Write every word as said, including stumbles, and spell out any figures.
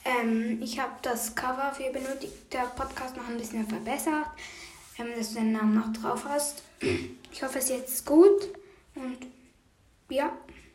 Ähm, ich habe das Cover für benötigter Podcast noch ein bisschen verbessert, ähm, dass du den Namen noch drauf hast. Ich hoffe, es ist jetzt gut und ja.